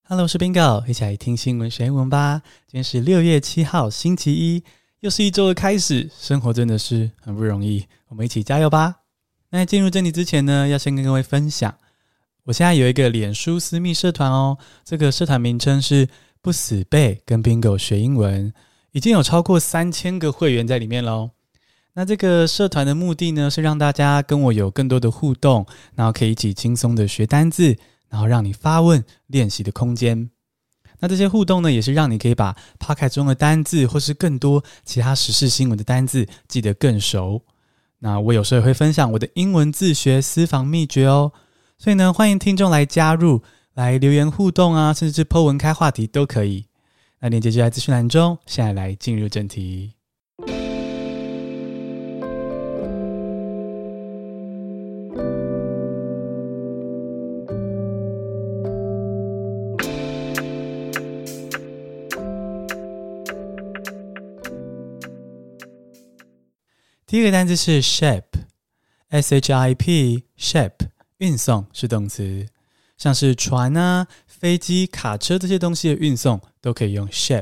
Hello， 我是 Bingo， 一起來聽新聞學英文吧。今天是6月7號，星期一，又是一周的開始。生活真的是很不容易，我們一起加油吧。那在進入正題之前呢，要先跟各位分享，我現在有一個臉書私密社團哦。這個社團名稱是不死背跟 Bingo 學英文，已經有超過3000個會員在裡面咯。那這個社團的目的呢，是讓大家跟我有更多的互動，然後可以一起輕鬆的學單字，然後讓你發問練習的空間。那這些互動呢，也是讓你可以把 Podcast 中的單字或是更多其他時事新聞的單字記得更熟。那我有時候也會分享我的英文自學私房秘訣哦。所以呢，歡迎聽眾來加入，來留言互動啊，甚至是 po 文開話題都可以。那鏈接就在資訊欄中。現在來進入正題。第一個單字是 ship， S-H-I-P， ship， 運送是動詞，像是船啊、飛機、卡車這些東西的運送都可以用 ship。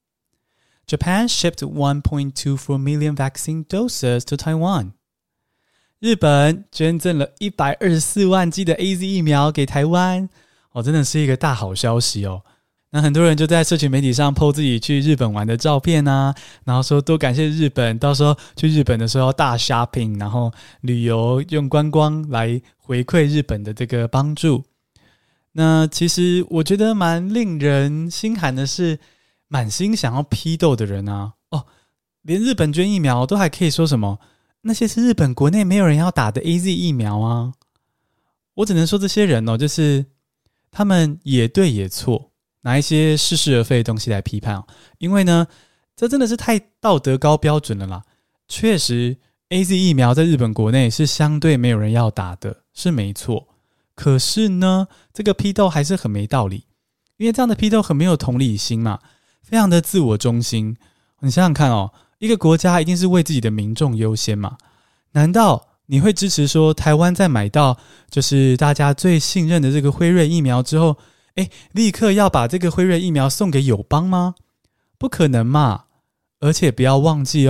Japan shipped 1.24 million vaccine doses to Taiwan。 日本捐贈了124萬劑的 AZ 疫苗給台灣，真的是一個大好消息哦。那很多人就在社群媒體上 po 自己去日本玩的照片啊，然後說多感謝日本，到時候去日本的時候要大 shopping， 然後旅遊用觀光來回饋日本的這個幫助。那其實我覺得蠻令人心寒的是，滿心想要批鬥的人啊，連日本捐疫苗都還可以說什麼那些是日本國內沒有人要打的 AZ 疫苗啊。我只能說這些人就是他們也對也錯，拿一些似是而非的東西來批判因為呢，這真的是太道德高標準了啦。確實 AZ 疫苗在日本國內是相對沒有人要打的，是沒錯。可是呢，這個批鬥還是很沒道理，因為這樣的批鬥很沒有同理心嘛，非常的自我中心。你想想看一個國家一定是為自己的民眾優先嘛？難道你會支持說台灣在買到就是大家最信任的這個輝瑞疫苗之後，立刻要把這個輝瑞疫苗送給友邦嗎？不可能嘛！而且不要忘記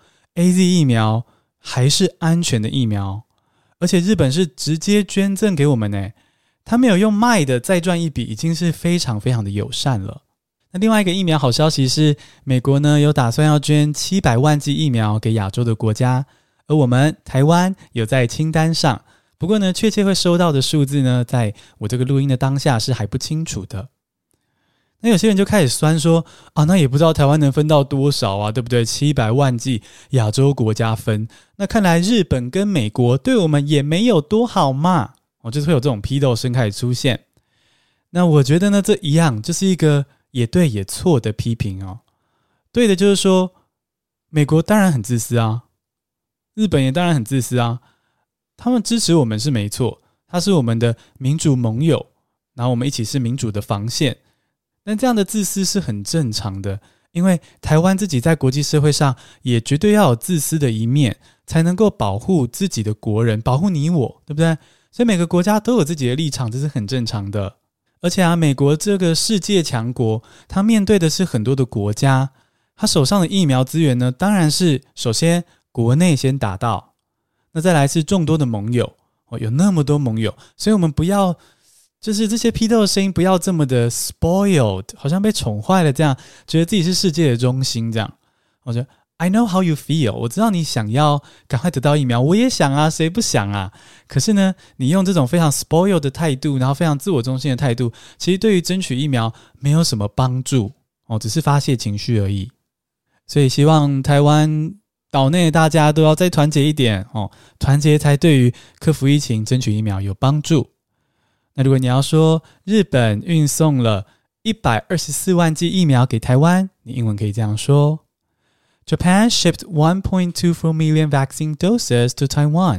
AZ 疫苗還是安全的疫苗，而且日本是直接捐贈給我們耶，他沒有用賣的再賺一筆，已經是非常非常的友善了。那另外一個疫苗好消息是，美國呢有打算要捐700萬劑疫苗給亞洲的國家，而我們台灣有在清單上。不過呢，確切會收到的數字呢，在我這個錄音的當下是還不清楚的。那有些人就開始酸說那也不知道台灣能分到多少啊，對不對？700萬劑亞洲國家分，那看來日本跟美國對我們也沒有多好嘛。就是會有這種批鬥聲開始出現。那我覺得呢，這一樣就是一個也對也錯的批評對的就是說，美國當然很自私啊，日本也當然很自私啊。他們支持我們是沒錯，他是我們的民主盟友，然後我們一起是民主的防線。但這樣的自私是很正常的，因為台灣自己在國際社會上也絕對要有自私的一面，才能夠保護自己的國人，保護你我，對不對？所以每個國家都有自己的立場，這是很正常的。而且美國這個世界強國，他面對的是很多的國家，他手上的疫苗資源呢，當然是首先國內先打到。那再來是眾多的盟友有那麼多盟友，所以我們不要就是這些批鬥的聲音不要這麼的 spoiled， 好像被寵壞了這樣，覺得自己是世界的中心這樣。我覺得 I know how you feel， 我知道你想要趕快得到疫苗，我也想啊，誰不想啊？可是呢，你用這種非常 spoiled 的態度，然後非常自我中心的態度，其實對於爭取疫苗沒有什麼幫助只是發洩情緒而已。所以希望台灣島內大家都要再團結一點團結才對於克服疫情、爭取疫苗有幫助。那如果你要說日本運送了124萬劑疫苗給台灣，你英文可以這樣說 Japan shipped 1.24 million vaccine doses to Taiwan.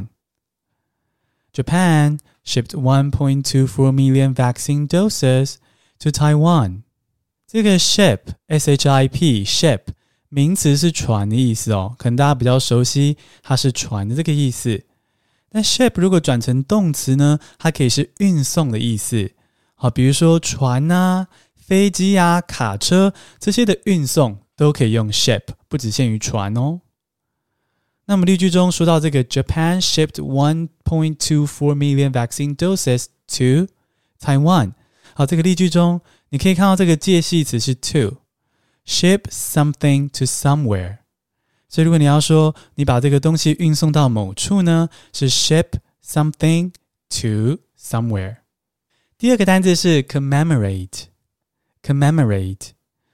Japan shipped 1.24 million vaccine doses to Taiwan. 這個 ship, S-H-I-P, ship名詞是船的意思可能大家比較熟悉，它是船的這個意思。但 ship 如果轉成動詞呢，它可以是運送的意思。好，比如說船啊、 飛機啊、卡車這些的運送都可以用 ship， 不只限於船哦。那麼例句中說到這個 Japan shipped 1.24 million vaccine doses to Taiwan。好，這個例句中你可以看到這個介系詞是 to。Ship something to somewhere。所以如果你要說你把這個東西運送到某處呢，是 ship something to somewhere。第二個單字是 commemorate。commemorate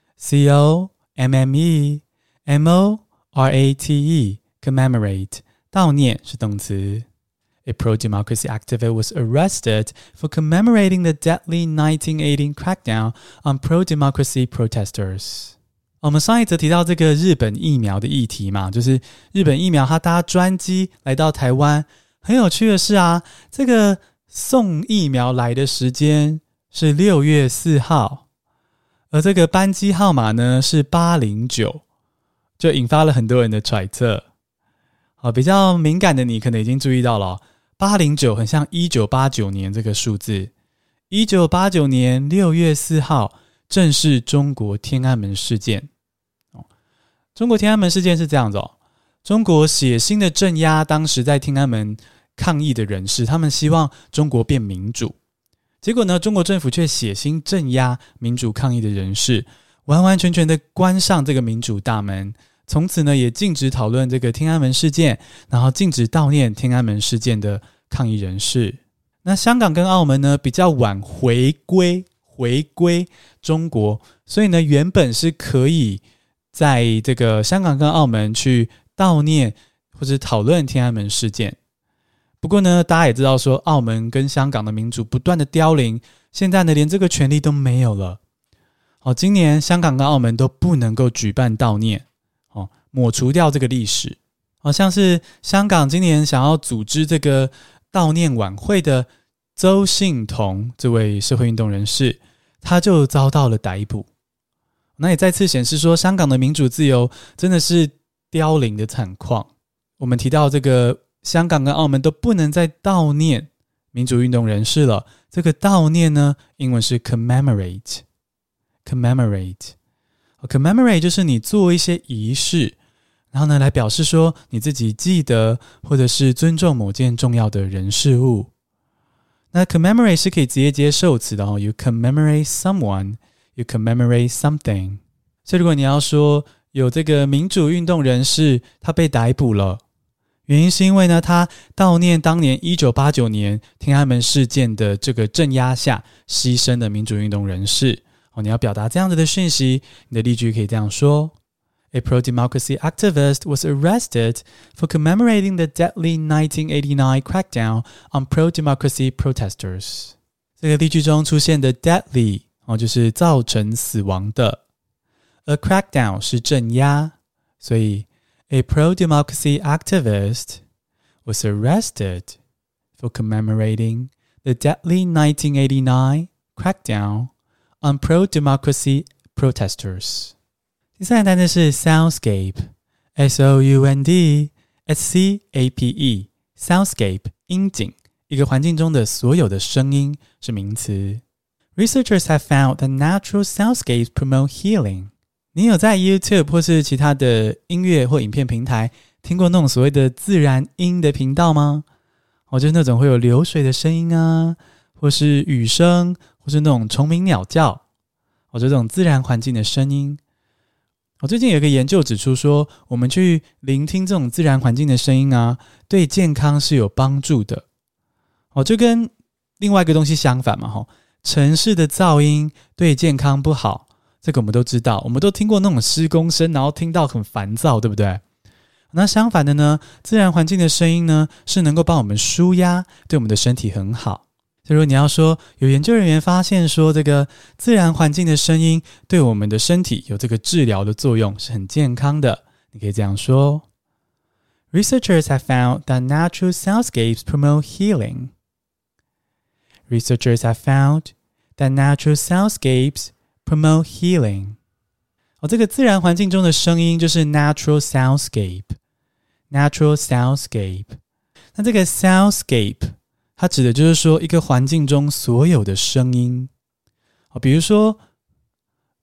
C-O-M-M-E-M-O-R-A-T-E commemorate 悼念是動詞。A pro-democracy activist was arrested for commemorating the deadly 1918 crackdown on pro-democracy protesters。我們上一則提到這個日本疫苗的議題嘛，就是日本疫苗它搭專機來到台灣。很有趣的是啊，這個送疫苗來的時間是6月4號，而這個班機號碼呢是809，就引發了很多人的揣測。好，比較敏感的你可能已經注意到了，809很像1989年這個數字。1989年6月4號正是中國天安門事件。中國天安門事件是這樣子中國血腥的鎮壓當時在天安門抗議的人士，他們希望中國變民主。結果呢，中國政府卻血腥鎮壓民主抗議的人士，完完全全的關上這個民主大門。從此呢，也禁止討論這個天安門事件，然後禁止悼念天安門事件的抗議人士。那香港跟澳門呢，比較晚回歸中國，所以呢，原本是可以在這個香港跟澳門去悼念或者討論天安門事件。不過呢，大家也知道說，澳門跟香港的民主不斷的凋零，現在呢，連這個權利都沒有了。今年香港跟澳門都不能夠舉辦悼念，抹除掉這個歷史。像是香港今年想要組織這個悼念晚會的鄒幸彤這位社會運動人士，他就遭到了逮捕。那也再次顯示說，香港的民主自由真的是凋零的慘況。我們提到這個香港跟澳門都不能再悼念民主運動人士了。這個悼念呢，英文是 commemorate。commemorate 就是你做一些儀式，然後呢來表示說你自己記得或者是尊重某件重要的人事物。那 commemorate 是可以直接接受詞的You commemorate someone。You commemorate something。 所以如果你要說有這個民主運動人士他被逮捕了，原因是因為呢他悼念當年1989年天安門事件的這個鎮壓下犧牲的民主運動人士。你要表達這樣子的訊息，你的例句可以這樣說： A pro-democracy activist was arrested for commemorating the deadly 1989 crackdown on pro-democracy protesters。 這個例句中出現的 deadly就是造成死亡的，而 crackdown 是鎮壓，所以 A pro-democracy activist was arrested for commemorating the deadly 1989 crackdown on pro-democracy protesters。 第三個單詞是 soundscape S-O-U-N-D-S-C-A-P-E soundscape 音景，一個環境中的所有的聲音是名詞。Researchers have found that natural soundscapes promote healing。 你有在 YouTube 或是其他的音樂或影片平台聽過那種所謂的自然音的頻道嗎？就是那種會有流水的聲音啊，或是雨聲，或是那種蟲鳴鳥叫，這種自然環境的聲音。最近有一個研究指出說，我們去聆聽這種自然環境的聲音啊，對健康是有幫助的。就跟另外一個東西相反嘛，城市的噪音對健康不好，這個我們都知道，我們都聽過那種施工聲，然後聽到很煩躁，對不對？那相反的呢，自然環境的聲音呢，是能夠幫我們舒壓，對我們的身體很好。所以如果你要說有研究人員發現說這個自然環境的聲音對我們的身體有這個治療的作用，是很健康的，你可以這樣說 Researchers have found that natural soundscapes promote healing. Researchers have found that natural soundscapes promote healing. 這個自然環境中的聲音就是 natural soundscape. Natural soundscape. 那這個 soundscape它指的就是說一個環境中所有的聲音。比如說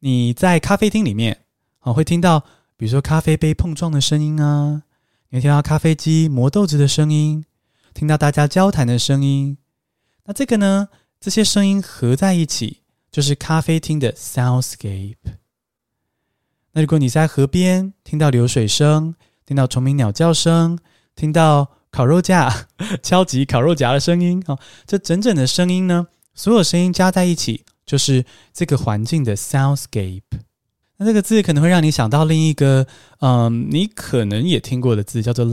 你在咖啡廳裡面會聽到比如說咖啡杯碰撞的聲音啊，你會聽到咖啡機磨豆子的聲音，聽到大家交談的聲音。那這個呢，這些聲音合在一起就是咖啡廳的 soundscape。那如果你在河邊聽到流水聲，聽到蟲鳴鳥叫聲，聽到烤肉架敲擊烤肉夾的聲音，這整整的聲音呢，所有聲音加在一起就是這個環境的 soundscape。那這個字可能會讓你想到另一個你可能也聽過的字，叫做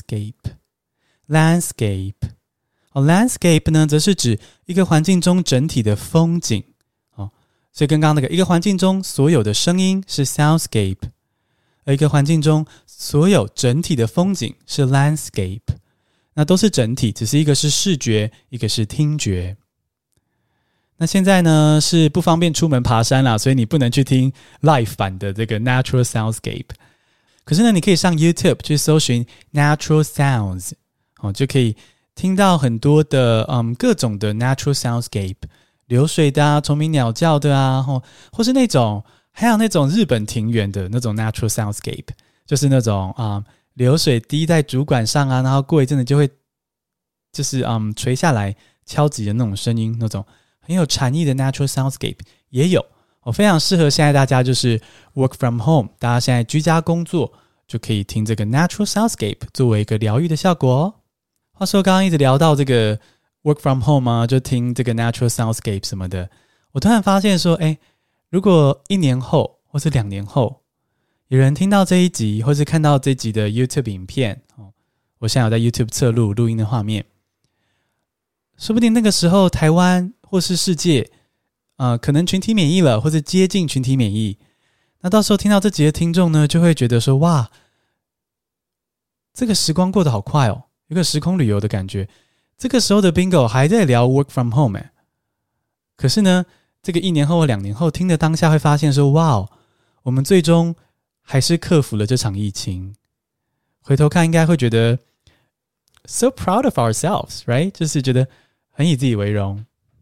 landscape。landscape 呢，則是指一個環境中整體的風景。所以跟剛剛那個一個環境中所有的聲音是 soundscape， 而一個環境中所有整體的風景是 landscape。 那都是整體，只是一個是視覺，一個是聽覺。那現在呢是不方便出门爬山啦，所以你不能去聽 live 版的這個 natural soundscape。 可是呢，你可以上 YouTube 去搜尋 natural sounds， 就可以聽到很多的各種的 natural soundscape，流水的啊，蟲鳴鳥叫的啊，或是那種還有那種日本庭園的那種 natural soundscape， 就是那種流水滴在主管上啊，然後過一陣子就會就是垂下來敲擊的那種聲音，那種很有禪意的 natural soundscape 也有。非常適合現在大家就是 work from home， 大家現在居家工作就可以聽這個 natural soundscape 作為一個療癒的效果哦。話說剛剛一直聊到這個work from home 啊，就聽這個 natural soundscape 什麼的，我突然發現說，如果1年後或是2年後，有人聽到這一集，或是看到這一集的 YouTube 影片，我現在有在 YouTube 側錄音的畫面，說不定那個時候台灣或是世界，可能群體免疫了，或是接近群體免疫，那到時候聽到這集的聽眾呢，就會覺得說，哇，這個時光過得好快哦，有個時空旅遊的感覺。這個時候的 Bingo 還在聊 work from home， 可是呢，這個1年後或2年後聽的當下會發現說，哇，我們最終還是克服了這場疫情。回頭看應該會覺得 so proud of ourselves, right？ 就是覺得很以自己為榮。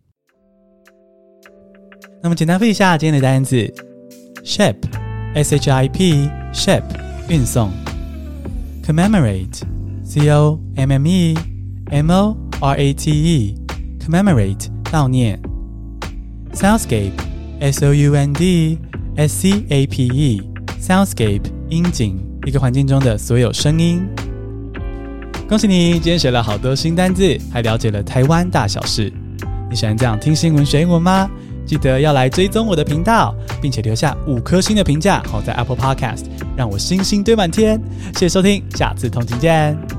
那麼簡單複習一下今天的單字 Ship S-H-I-P Ship 運送 Commemorate C-O-M-M-E-M-O-R-A-T-E Commemorate 悼念 Soundscape S-O-U-N-D-S-C-A-P-E Soundscape 音景，一個環境中的所有聲音。恭喜你，今天學了好多新單字，還了解了台灣大小事。你喜歡這樣聽新聞學英文嗎？記得要來追蹤我的頻道，並且留下5顆星的評價，好在 Apple Podcast 讓我星星堆滿天。謝謝收聽，下次通勤見。